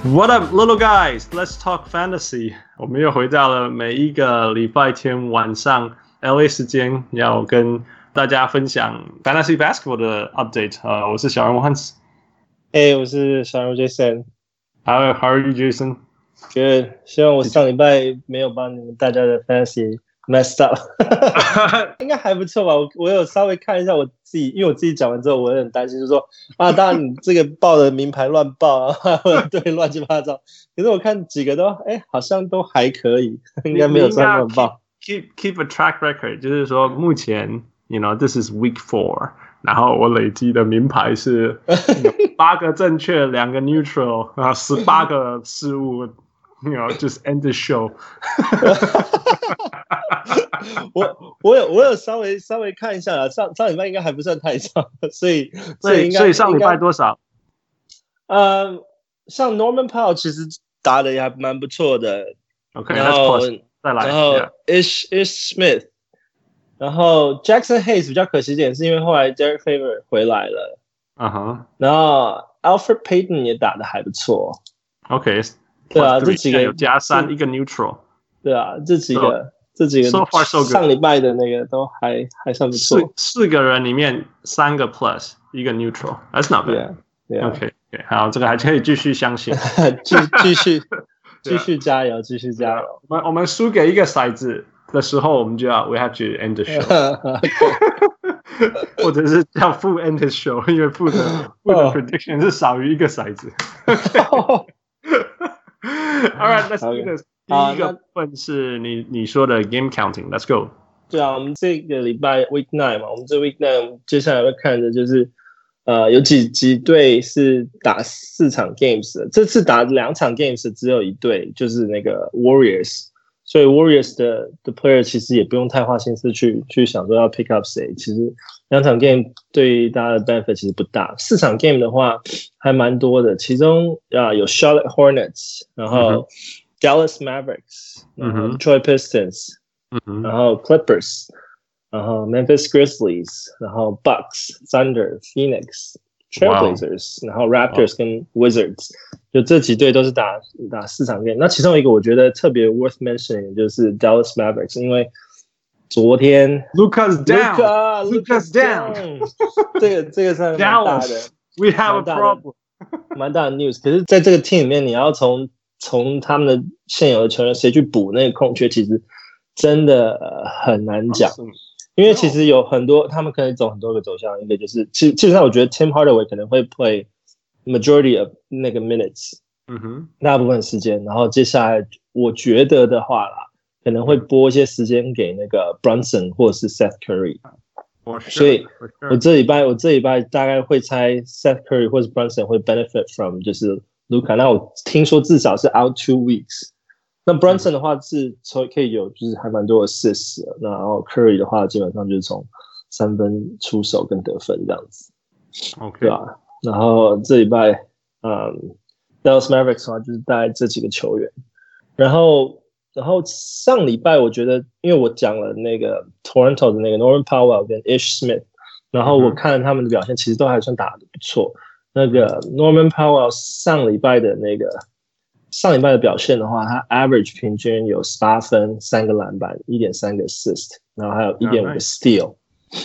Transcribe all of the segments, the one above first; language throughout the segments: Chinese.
What up, little guys? Let's talk fantasy. 我們又回到了每一個禮拜天晚上 LA 時間，要跟大家分享 fantasy basketball 的 update。我是小人物 Hans。 Hey， 我是小人物 Jason。How are you, Jason? Good。希望我上禮拜沒有幫你們大家的 fantasy messed up。應該還不錯吧？我有稍微看一下我自己，因為我自己講完之後，我有點擔心，就是說啊，當然你這個報的名牌亂報啊，對，亂七八糟。可是我看幾個都，好像都還可以，應該沒有亂報。 Keep a track record， 就是說目前 ，you know this is week 4， 然後我累積的名牌是8個正確，2個 neutral， 然後18個失誤。You know, just end the show 。 我有稍微看一下啦，上禮拜應該還不算太差，所以上禮拜多少？ 像 Norman Powell 其實打的也還蠻不錯的。 OK， 然後再來， 然後 Ish Smith， 然後 Jackson Hayes 比較可惜一點，是因為後來 Derek Favors 回來了。然後 Alfred Payton 也打的還不錯。 OK。 對啊，這幾個有加3，一個 neutral。 對啊，這幾個 so far so good。 上禮拜的那個都還算不錯。 4個人裡面3個 plus， 一個 neutral。That's not bad。OK， 好，這個還可以繼續相信。繼續加油，繼續加油。 我們輸給一個骰子的時候，我們就要 we have to end the show。或者是叫負 end the show， 因為負的 prediction 是少於一個骰子。All right, let's do this. 第一個部分是你說的 game counting. Let's go. 對啊，我們這個禮拜 week 9嘛，我們這 week 9接下來會看的就是有幾隊是打4場 games 的，這次打2場 games 只有一隊，就是那個 Warriors。所以 Warriors 的 player 其實也不用太花心思去想說要 pick up 誰，其實2場 game 對大家的 benefit 其實不大。4場 game 的話還蠻多的，其中有 Charlotte Hornets， 然後 Dallas Mavericks， 然後 Detroit Pistons， 然後 Clippers， 然後 Memphis Grizzlies， 然後 Bucks、Thunder、Phoenix、Trailblazers， 然後 Raptors 跟 Wizards， 就這幾隊都是打4場 game。那其中一個我覺得特別 worth mentioning 就是 Dallas Mavericks， 因為昨天 Luka's down， 这個是蠻大的 ，We have a problem， 蠻大的 news。可是在這個 team 裡面，你要從他們的現有的球員誰去補那個空缺，其實真的很難講。因為其實有很多，他們可以走很多個走向，一個就是基本上我覺得 Tim Hardaway 可能會 play majority of 那個 minutes， 大部分時間，然後接下來我覺得的話啦，可能會撥一些時間給那個 Brunson 或者是 Seth Curry， 所以我這禮拜大概會猜 Seth Curry 或者 Brunson 會 benefit from 就是 Luka， 那我聽說至少是 out 2 weeks。那 Brunson 的話是可以有就是還蠻多的 assist， 然後 Curry 的話基本上就是從3分出手跟得分這樣子 ，OK， 对吧？然後這禮拜Dallas Mavericks 的話就是大概這幾個球員，然後上禮拜我覺得因為我講了那個 Toronto 的那個 Norman Powell 跟 Ish Smith， 然後我看了他們的表現其實都還算打得不錯。那個 Norman Powell 上禮拜的表現的話，他 average 平均有18分、3個籃板、1.3個 assist， 然後還有 1.5 個 steal，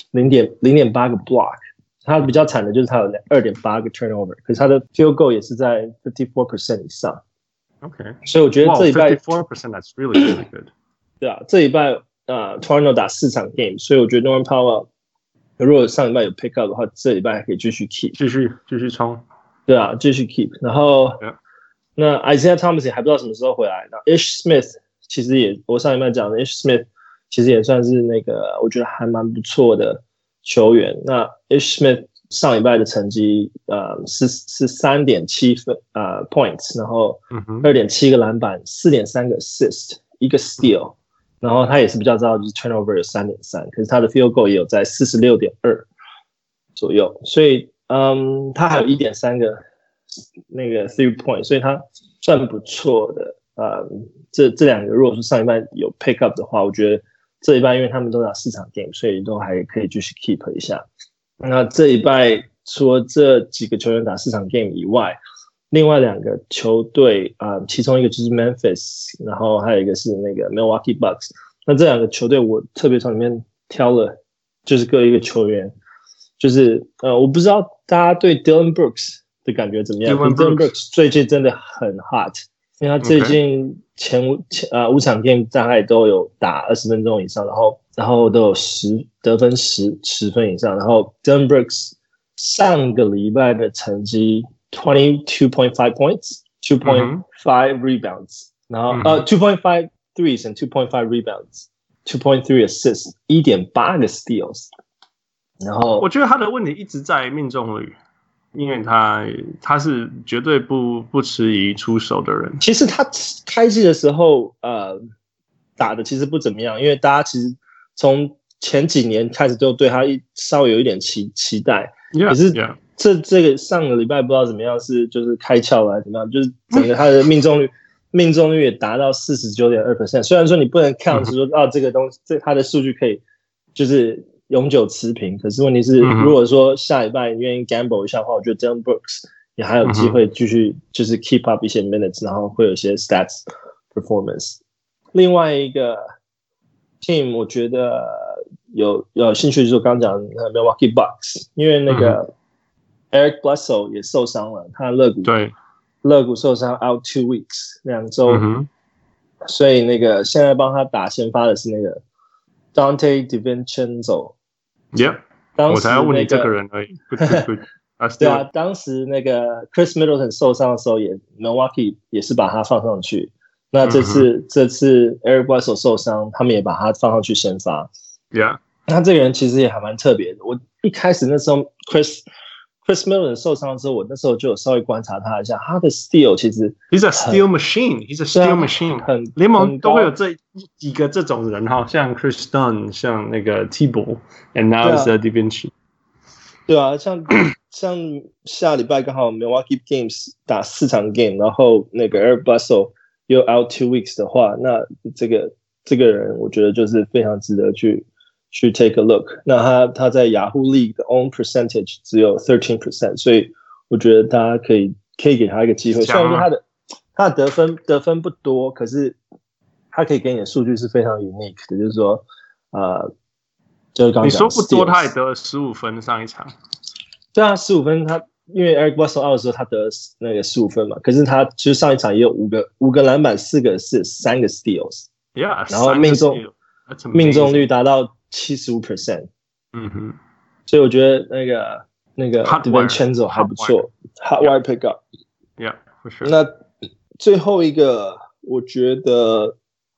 0.8個 block。他比較慘的就是他有 2.8 個 turnover， 可是他的 field goal 也是在 54% 以上。 OK， 所以我覺得這禮拜 54% that's really good。 對啊，這禮拜Toronto 打4場 game， 所以我覺得 Norman Powell 如果上禮拜有 pick up 的話，這禮拜還可以繼續 keep， 繼續衝。 對啊，繼續 keep。然後那 Isaiah Thomas 也還不知道什麼時候回來。那 Ish Smith 其實也，我上禮拜講的 Ish Smith 其實也算是那個我覺得還蠻不錯的球員。那 Ish Smith 上禮拜的成績是 3.7 分points， 然後 2.7 個籃板， 4.3 個 assist， 1個 steal， 然後他也是比較糟的就是 turnover 有 3.3， 可是他的 field goal 也有在 46.2 左右，所以他還有 1.3 個那個 3 point， 所以他算不錯的。這兩個如果說上禮拜有 pick up 的話，我覺得這禮拜因為他們都打4場 game， 所以都還可以繼續 keep 一下。那這禮拜除了這幾個球員打4場 game 以外， 另外2個球隊其中一個就是 Memphis， 然後還有一個是那個 Milwaukee Bucks。那這2個球队我特別從裡面挑了，就是各一個球員。就是我不知道大家對 Dillon Brooks 的感覺怎麼樣。Dillon Brooks 最近真的很 hot， 因為他最近前5場 game 大概都有打20分鐘以上，然後都有得分10分以上。然後 Dillon Brooks 上個禮拜的成績 22.5 points, 2.5 rebounds， 然後2.5 threes and 2.5 rebounds, 2.3 assists, 1.8 個 steals。然後我覺得他的問題一直在命中率，因為他是絕对不遲疑出手的人。 其實他開季的時候打的其實不怎麼樣，因為大家其實從前幾年開始都對他稍微有一點期待。可是這個上個禮拜不知道怎麼樣，就是開竅了還是怎麼樣，就是整個他的命中率也達到 49.2%。雖然說你不能看是說這個東西他的數據可以就是永久持平，可是問題是，如果說下禮拜你願意 gamble 一下的話，我覺得 Dillon Brooks 也還有機會繼續就是 keep up 一些 minutes， 然後會有一些 stats performance。另外一個 team 我覺得有興趣就是我剛剛講的 Milwaukee Bucks， 因為那個 Eric Bledsoe 也受傷了，他肋骨受傷 out 2 weeks 2週，所以那個現在幫他打先發的是那個 Dante DiVincenzo。Yeah， 我才要問你這個人而已。 對啊，當時那個 Chris Middleton 受傷的時候，Milwaukee 也是把他放上去。那這次 Eric Bledsoe 受傷，他們也把他放上去先發。 Yeah， 那這個人其實也還蠻特別的。我一開始那時候 Chris Middleton 受傷的時候，我那時候就有稍微觀察他一下，他的 steal 其實 He's a steal machine， He's a steal machine。聯盟都會有這幾個這種人哈，像 Chris Dunn， 像那個 T-Ball，and now is DiVincenzo。 對啊，像下禮拜剛好 Milwaukee Games 打4場 game， 然後那個 Eric Bledsoe 又 out 2 weeks 的話，那這個人我覺得就是非常值得去 take a look。那他在 Yahoo League 的 own percentage 只有 13%， 所以我覺得大家可以給他一個機會。雖然說他的得分不多，可是他可以給你的數據是非常 unique 的，就是說就是剛剛講你說不多，他也得了15分上一場。 對啊，15分他因為 Eric Bledsoe out 的時候他得了那個15分嘛，可是他其實上一場也有5個籃板4個assists 3個 steals。Yeah， 然後命中率達到 75%。所以我覺得那個 DiVincenzo 還不錯 ，hot wire pickup。Yeah，for sure。 那最後一個我覺得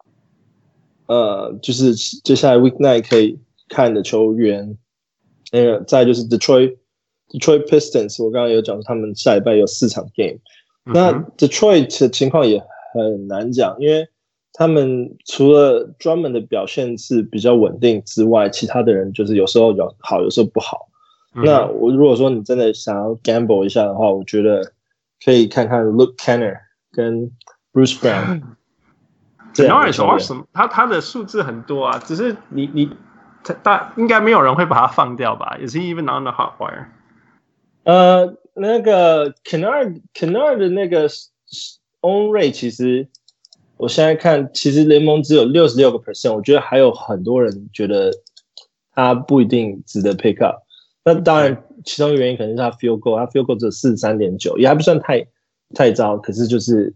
就是接下來 weeknight 可以看的球員，那個再就是 Detroit Pistons， 我剛剛有講他們下禮拜有4場 game。那 Detroit 的情況也很難講，因為他們除了 Drummond 的表現是比較穩定之外，其他的人就是有時候好，有時候不好。那如果说你真的想要 gamble 一下的話，我覺得可以看看 Luke Kennard 跟 Bruce Brown。 Kennard is awesome， 他的數字很多啊，只是應該沒有人會把他放掉吧 ？Is he even on the hot wire？ 那個 Kennard 的那個 own rate 其實。我現在看，其實聯盟只有 66%， 我覺得還有很多人覺得他不一定值得 pick up。那當然，其中一個原因可能是他 field goal， 他 field goal 只有 43.9， 也還不算太糟。可是就是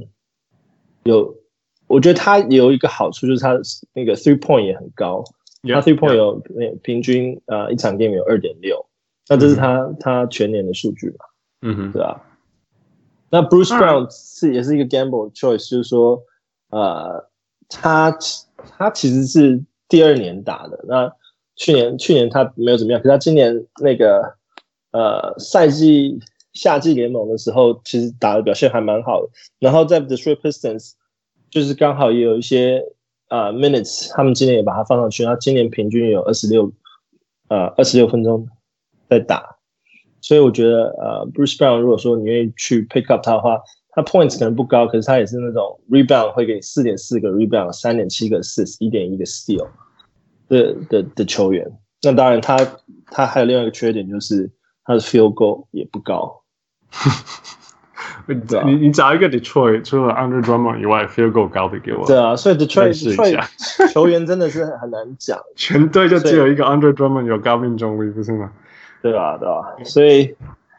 我覺得他有一個好處，就是他那個 3 point 也很高，他 3 point 有平均一場 game 有 2.6， 那這是他全年的數據嘛，對吧？那 Bruce Brown 也是一個 gamble choice， 就是說，他其實是第2年打的。那去年他沒有怎麼樣，可是他今年那個賽季夏季聯盟的時候，其實打的表現還蠻好的。然後在 Detroit Pistons 就是剛好也有一些minutes， 他們今年也把他放上去，他今年平均有26分鐘在打。所以我覺得Bruce Brown 如果說你願意去 pick up 他的話，他 points 可能不高，可是他也是那種 rebound 會給你 4.4 個 rebound， 3.7 個 assist， 1.1 個 steal 的球員。那當然他還有另外一個缺點，就是他的 field goal 也不高。 你找一個 Detroit 除了 Andre Drummond 以外 field goal 高的給我。 對啊，所以 Detroit 球員真的是很難講， 全隊就只有一個 Andre Drummond 有高命中率，不是嗎？ 對啊，所以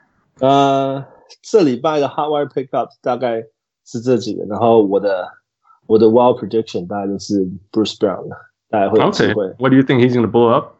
這禮拜的 Hotwire Pickup 大概是這幾個，然後我的 Wild Prediction 大概就是 Bruce Brown， 大概會有機會。 What do you think he's going to blow up?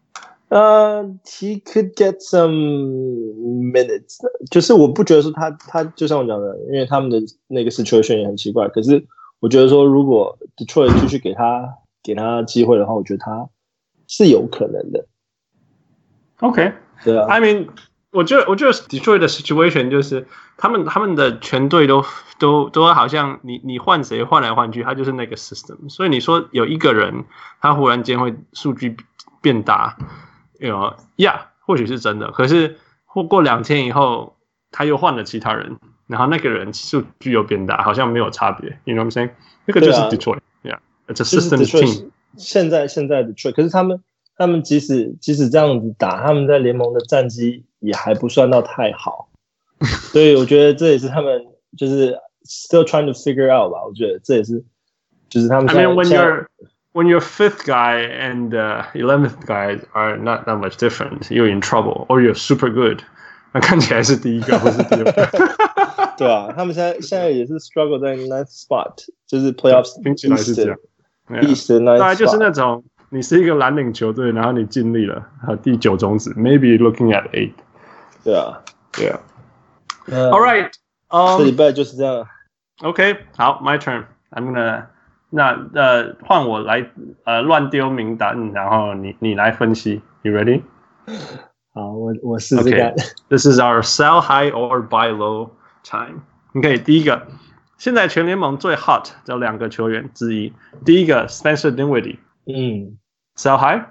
He could get some minutes， 就是我不覺得說他就像我講的，因為他們的那個 situation 也很奇怪。可是我覺得說，如果 Detroit 繼續給他機會的話，我覺得他是有可能的。 OK， 對啊。 I mean， 我覺得 Detroit 的 situation 就是他們的全隊都好像你換誰換來換去，他就是那個 system。所以你說有一個人他忽然間會數據變大。或許是真的，可是過2天以後，他又換了其他人，然後那個人數據又變大，好像沒有差別。You know what I'm saying？ 那個就是 Detroit，it's a system team。 現在 Detroit， 可是他們即使這樣子打，他們在聯盟的戰績也還不算到太好，所以我覺得這也是他們就是 still trying to figure out 吧。我覺得這也是就是他們現在。 When your 5th guy and 11th guy are not that much different, you're in trouble, or you're super good. 那看起來是第一個，或是第二個。 對啊，他們現在也是 struggle 在 9th spot， 就是 playoffs 聽起來是這樣。 East 的 9th spot， 大概就是那種你是一個藍領球隊，然後你盡力了，第9種子 ，maybe looking at 8。 對啊。 All right， 這禮拜就是這樣。 OK， 好 ，my turn. I'm gonna。那換我來亂丟名單，然後你來分析。You ready? 好，我試試看。 This is our sell high or buy low time. OK， 第一個，現在全聯盟最 hot 的2個球員之一，第一個 Spencer Dinwiddie。Sell high?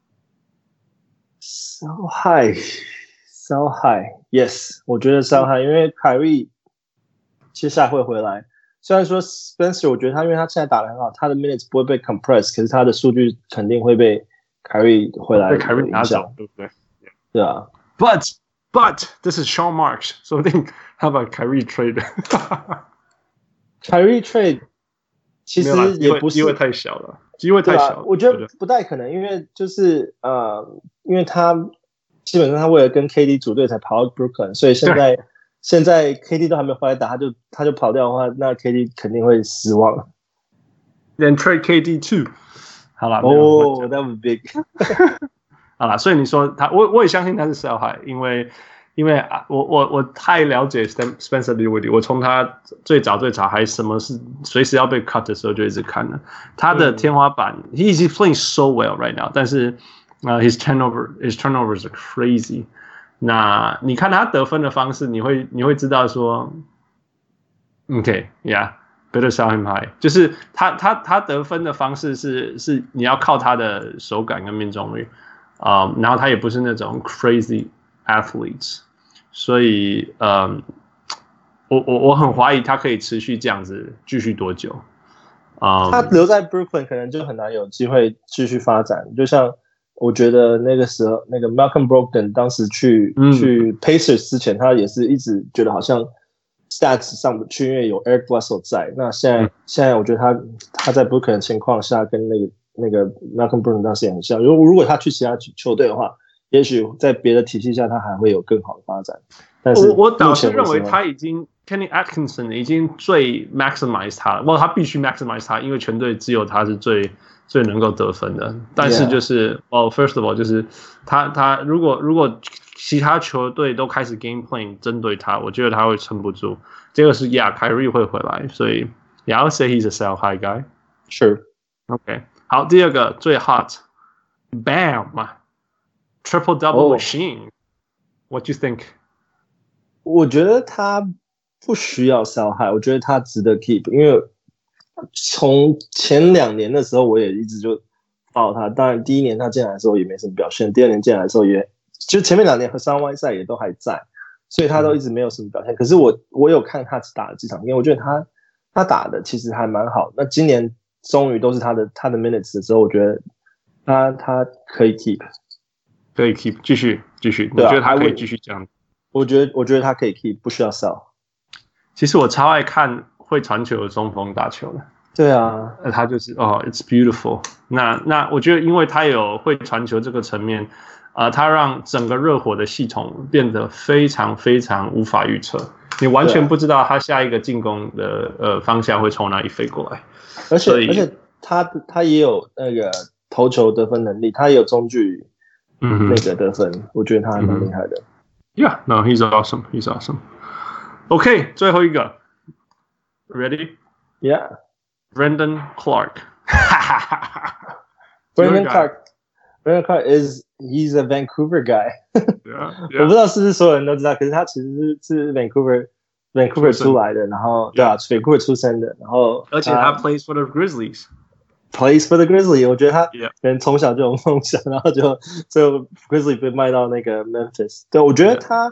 Sell high. Yes， 我覺得 sell high， 因為凱瑞接下來會回來。雖然說 Spencer， 我覺得他因為他現在打得很好，他的 minutes 不會被 compress， 可是他的數據肯定會被凱瑞回來凱瑞拿走，對不對？ 對啊。 But this is Sean Marks， 說不定他把凱瑞 trade。 凱瑞 trade 其實也不是， 機會太小了，機會太小了。 我覺得不太可能，因為就是因為他基本上他為了跟 KD 組隊才跑到 Brooklyn， 所以現在 KD 都還沒回來打，他就跑掉的話，那 KD 肯定會失望。 Then trade KD too。好了 that was big 。 好了，所以你說他，我也相信他是 sell high， 因為我太了解 Spencer Dinwiddie， 我從他最早還什麼是隨時要被 cut 的時候就一直看了他的天花板。He's playing so well right now， 但是his turnovers are crazy。那你看他得分的方式，你會知道說 ，OK，better sell him high， 就是他得分的方式是你要靠他的手感跟命中率，然後他也不是那種 crazy athletes， 所以我很懷疑他可以持續這樣子繼續多久。 他留在 Brooklyn 可能就很難有機會繼續發展，就像。我覺得那個時候，那個 Malcolm Brogdon 當時去 Pacers 之前，他也是一直覺得好像 stats 上不去，因為有 Eric Bledsoe 在。那現在我覺得他在 Brooklyn 的情況下，跟那個 Malcolm Brogdon 當時也很像。如果他去其他球隊的話，也許在別的體系下，他還會有更好的發展。但是我倒是認為他已經 Kenny Atkinson 已經最 maximize 他了，他必須 maximize 他，因為全隊只有他是最能夠得分的，但是就是first of all 就是他如果其他球隊都開始 game plan 針對他，我覺得他會撐不住。這個是凱瑞會回來，所以 I'll say he's a sell high guy. Sure. OK， 好，第二個最 hot Bam Triple Double Machine. What do you think? 我覺得他不需要 sell high， 我覺得他值得 keep， 因為從前2年的時候，我也一直就抱他。當然，第1年他進來的時候也沒什麼表現，第2年進來的時候就前面2年和3外賽也都還在，所以他都一直沒有什麼表現。可是我有看他打了幾場，因為我覺得他打的其實還蠻好。那今年終於都是他的 minutes 的時候，我覺得他可以 keep， 可以 keep， 繼續，我覺得他可以繼續這樣。 我覺得他可以 keep， 不需要 sell。 其實我超愛看會傳球的中鋒打球的。 对啊， 他就是it's beautiful。那我覺得，因為他有會傳球這個層面，他讓整個熱火的系統變得非常非常無法預測，你完全不知道他下一個進攻的方向會從哪裡飛過來。 而且他也有那個投球得分能力，他也有中距離那個得分，我覺得他還蠻厲害的。 Yeah, no, he's awesome. He's awesome. OK， 最後一個 ，Ready? Yeah. Brandon Clark. Brandon Clark he's a Vancouver guy. yeah. 我不知道是不是所有人都知道，可是他其實是 Vancouver 出來的，然後對啊 ，Vancouver 出生的，然後而且他 plays for the Grizzlies。Plays for the Grizzlies， 我覺得他可能從小就有夢想，然後就最後 Grizzlies 被賣到那個 Memphis。對，我覺得他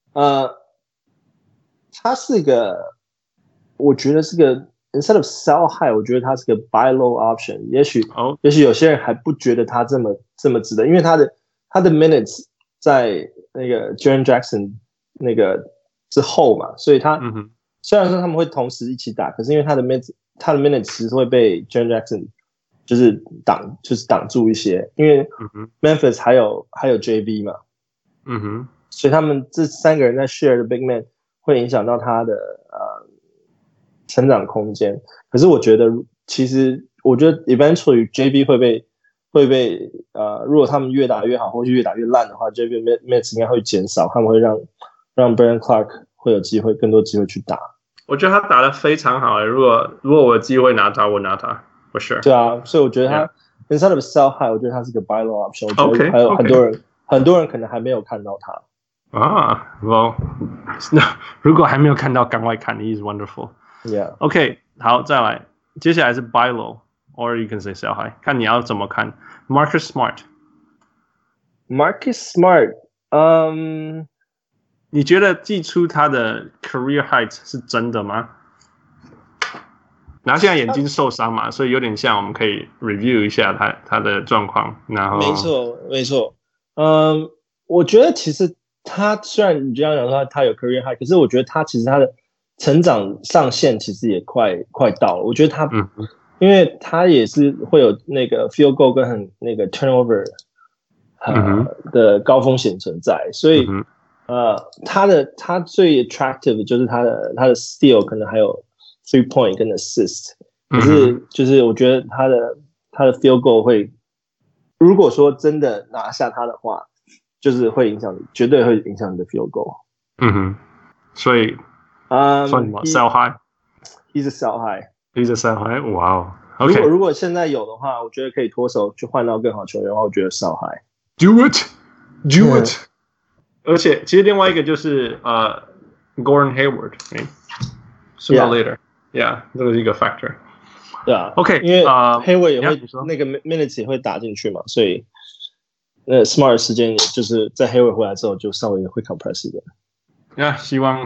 是個，我覺得是個。Instead of sell high， 我覺得他是個 buy low option。也許有些人還不覺得他這麼值得，因為他的 minutes 在那個 Jaren Jackson 那個之後嘛，所以他雖然說他們會同時一起打，可是因為他的 minutes 其實會被 Jaren Jackson 就是擋住一些，因為 Memphis 還有 JB 嘛，所以他們這三個人在 share 的 big man 會影響到他的成長空間，可是我覺得，其實我覺得 eventually JB 會被如果他們越打越好，或是越打越爛的話 ，JB minutes 應該會減少，他們會讓 Brandon Clark 會有更多機會去打。 我覺得他打得非常好，如果我有機會拿他，我拿他 for sure。 對啊，所以我覺得他 instead of sell high， 我覺得他是個 buy low option。我覺得還有很多人可能還沒有看到他。 well， 如果還沒有看到，趕快看 ，He's wonderful。Yeah. OK， 好，再來，接下來是 buy low，or you can say sell high， 看你要怎麼看。Marcus Smart， 你覺得季初他的 career height 是真的嗎？然後現在眼睛受傷嘛，所以有點像，我們可以 review 一下他的狀況。然後， 沒錯。我覺得其實他雖然你這樣講說他有 career height， 可是我覺得他其實他的成長上限其實也快到了，我覺得他，因為他也是會有那個 field goal 跟那個 turnover 的高風險存在，所以他最 attractive 的就是他的 steal 可能還有 3 point 跟 assist， 可是就是我覺得他的 field goal 會，如果說真的拿下他的話，就是會影響你，絕對會影響你的 field goal。 所以。算什麼 sell high？ He's a sell high. He's a sell high. Wow. Okay. 如果現在有的話，我覺得可以脫手去換到更好球員的話，我覺得 sell high. Do it. 而且其實另外一個就是Gordon Hayward. Sooner or later. Yeah, 這個是一個 factor. 對啊。 OK， 因為 Hayward 也會那個 minutes 也會打進去嘛，所以Smart 的時間也就是在 Hayward 回來之後就稍微會 compress 一點。 希望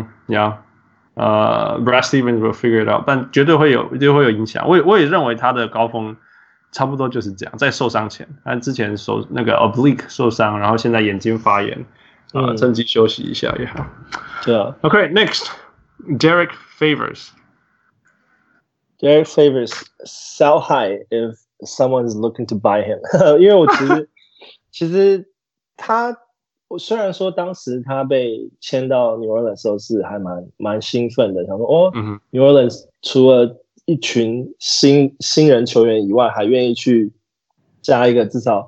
Brad Stevens will figure it out， 但絕對會有影響。我也認為他的高峰差不多就是這樣，在受傷前，他之前那個 oblique 受傷，然後現在眼睛發炎，趁機休息一下也好。 對啊。 OK, next, Derek Favors. Derek Favors sell high if someone is looking to buy him， 因為我其實他。雖然說當時他被簽到 New Orleans 的時候是還蠻興奮的，想說New Orleans 除了一群新人球員以外，還願意去加一個至少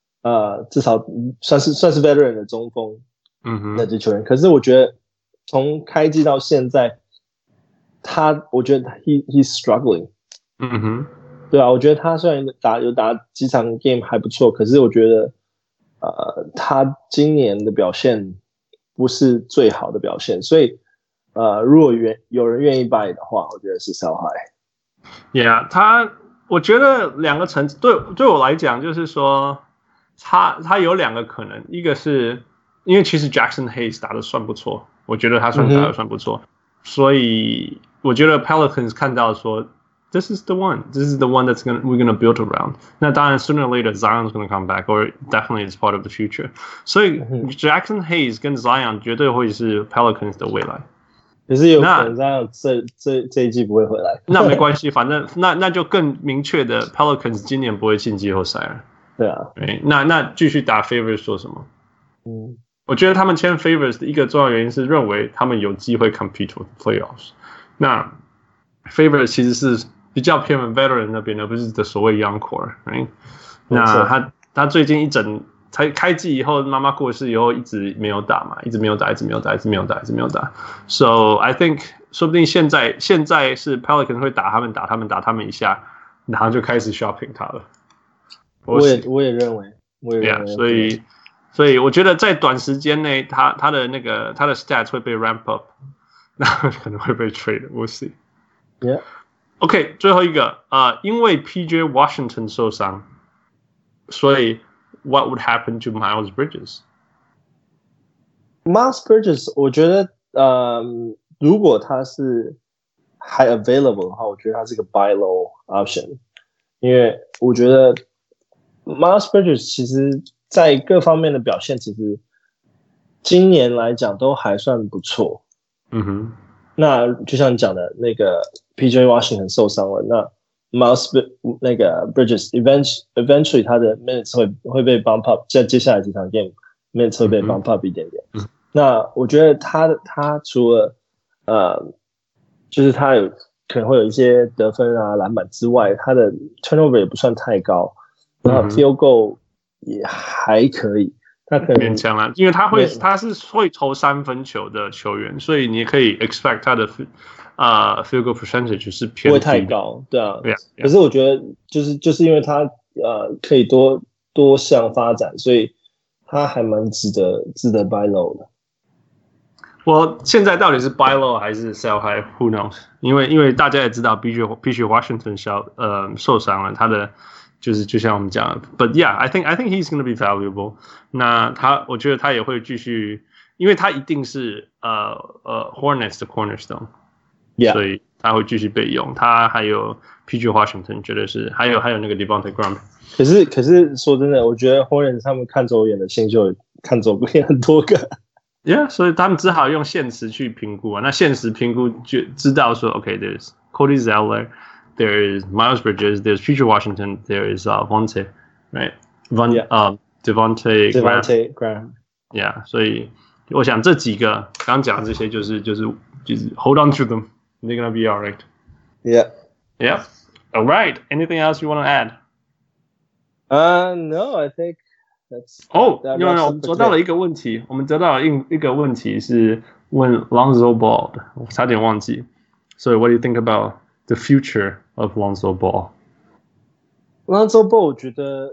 算是 veteran 的中鋒，那支球員。可是我覺得從開季到現在，我覺得 he's struggling，對啊，我覺得他雖然有打幾場 game 還不錯，可是我覺得。他今年的表現不是最好的表現，所以如果有人願意 buy 的話，我覺得是 sell high。Yeah， 我覺得兩個層次，對我來講，就是說他有兩個可能，一個是因為其實 Jackson Hayes 打得算不錯，我覺得他打得算不錯，所以我覺得 Pelicans 看到說。This is the one that's we're gonna build around. 那當然 sooner or later Zion's gonna come back, or definitely is part of the future. 所以 Jackson Hayes 跟 Zion 絕對會是 Pelicans 的未來。 可是有可能這一季不會回來。 那沒關係，反正那就更明確的 Pelicans 今年不會進季後賽了。 對啊， 對，那繼續打 Favors 做什麼？我覺得他們簽 Favors 的一個重要原因是認為他們有機會 compete for playoffs。那 Favors 其實是比較偏 veteran 那邊，而不是的所謂 young core。那他最近才開季以後，媽媽過世以後一直沒有打嘛，一直沒有打。So I think 說不定現在是 Pelicans 會打他們一下，然後就開始 shopping 他了。 我也認為。 所以我覺得在短時間內，他的 stats 會被 ramp up， 那可能會被 trade。We'll see。OK， 最後一個因為 PJ Washington 受傷，所以 what would happen to Miles Bridges？Miles Bridges， 我覺得如果他是還 available 的話，我覺得他是個 buy low option， 因為我覺得 Miles Bridges 其實在各方面的表現，其實今年來講都還算不錯。那就像你講的那個 PJ Washington 受傷了，那 Miles 那個 Bridges eventually 他的 minutes 會被 bump up， 在接下來幾場 game minutes 會被 bump up 一點點。那我覺得他除了就是他可能會有一些得分啊、籃板之外，他的 turnover 也不算太高，然後 field goal 也還可以。他可能勉強啦，因為他是會投三分球的球員，所以你可以 expect 他的field goal percentage 是偏低， 不会太高，对啊。可是我觉得就是因為他可以多項發展，所以他還蠻值得 buy low 的。 我现在到底是 buy low 還是 sell high？Who knows？ 因為大家也知道 PJ Washington 受傷了，他的就像我們講的 ，But yeah, I think he's going to be valuable。那我覺得他也會繼續，因為他一定是Hornets 的 cornerstone， 所以他會繼續被用。他還有 PJ Washington， 絕對是，還有那個 Devontae Graham。 可是說真的，我覺得 Hornets 他們看走眼的新秀看走眼很多個。 Yeah， 所以他們只好用現實去評估啊。那現實評估就知道說 ，OK，there's Cody Zeller。There is Miles Bridges, there's PJ Washington, there is Vontae, right? Devontae Graham. Yeah, 所以我想這幾個剛講的這些就是 hold on to them. They're gonna be all right. Yeah. All right. Anything else you want to add? No, I think that's. No. 我們得到了一個問題，是問 Lonzo Ball 的，我差點忘記。So what do you think about the future of Lonzo Ball? Lonzo Ball 我覺得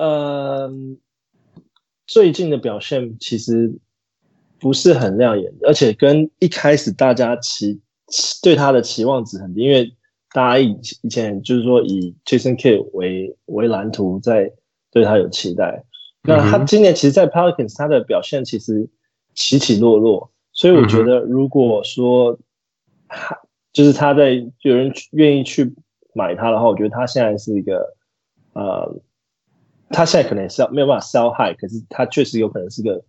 最近的表現其實不是很亮眼，而且跟一開始大家對他的期望值很低，因為大家以前就是說以 Jason Kidd 為藍圖，在對他有期待。那他今年其實在 Pelicans 他的表現其實起起落落，所以我覺得如果說就是他在有人願意去買他的話，我覺得他現在是一個他現在可能是沒有辦法 sell high， 可是他確實有可能是個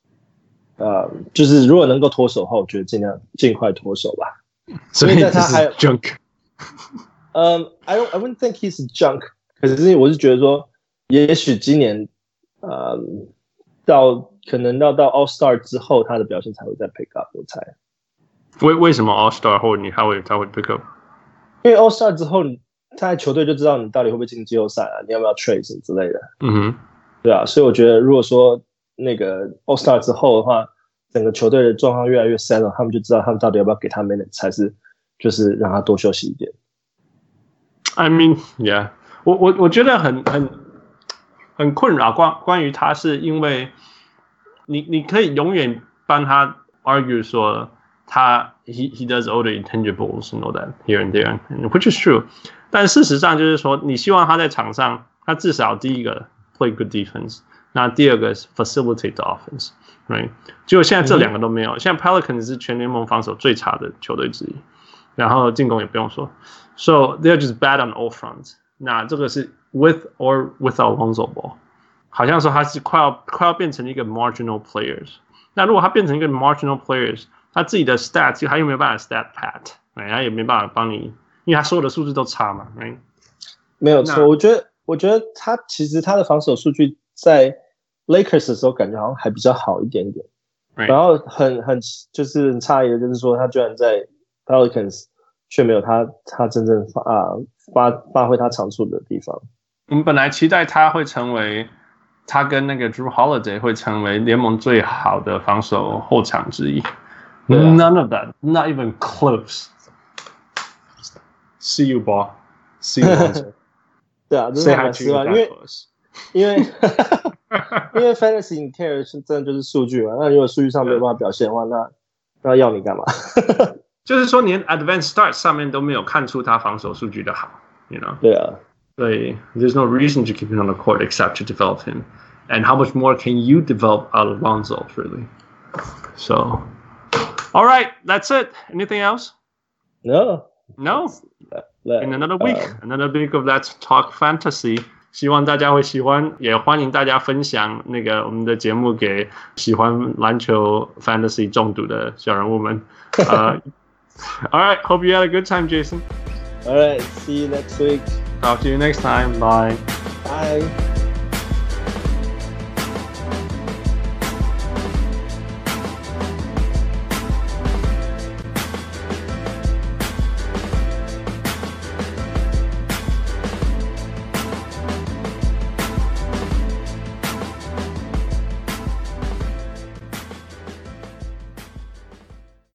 就是如果能夠脫手的話，我覺得盡快脫手吧。 所以他還 junk。 I wouldn't think he's junk， 可是我是覺得說，也許今年可能到 All Star 之後，他的表現才會再 pick up， 我猜。 為什麼 All Star 後他會 pick up？ 因為 All Star 之後，他在球隊就知道你到底會不會進季後賽啊，你要不要 trade 什麼之類的。對啊，所以我覺得如果說那個 All Star 之後的話，整個球隊的狀況越來越 settle， 他們就知道他們到底要不要給他 minutes， 還是就是讓他多休息一點。 I mean, yeah， 我覺得很困擾關於他，是因為你可以永遠幫他 argue 說he does all the intangibles and all that here and there, which is true。但事實上就是說，你希望他在場上，他至少第一個 play good defense， 那第二個是 facilitate the offense，right？ 結果現在這兩個都沒有。現在 Pelicans 是全聯盟防守最差的球隊之一，然後進攻也不用說。So they're just bad on all fronts。那這個是 with or without Lonzo Ball， 好像說他是快要變成一個 marginal players。那如果他變成一個 marginal players， 他自己的 stats 他又沒有辦法 stat pat， 他也沒辦法幫你，因為他所有的數字都差嘛， 沒有錯。我覺得他其實他的防守數據在 Lakers 的時候感覺好像還比較好一點點，然後很就是很詫異的就是說他居然在 Pelicans 卻沒有他真正發揮他長處的地方。 我們本來期待他會成為。他跟那個 Drew Holiday 會成為聯盟最好的防守後場之一。None of that, not even close. See you, ball. See you, Lonzo. 对啊，真的蠻失望，因為Fantasy 你 care 是真的就是數據嘛。那如果數據上沒有辦法表現的話，那要你幹嘛？ 就是說，連 Advanced Stats 上面都沒有看出他防守數據的好 ，you know？ 對啊。 对 there's no reason to keep him on the court except to develop him. And how much more can you develop out of Lonzo, really? So, all right, that's it. Anything else? No. In another week of Let's Talk Fantasy. 希望大家會喜歡，也歡迎大家分享那個我們的節目給喜歡籃球 Fantasy 中毒的小人物們。All right, hope you had a good time, Jason. All right, see you next week. Talk to you next time. Bye. Bye.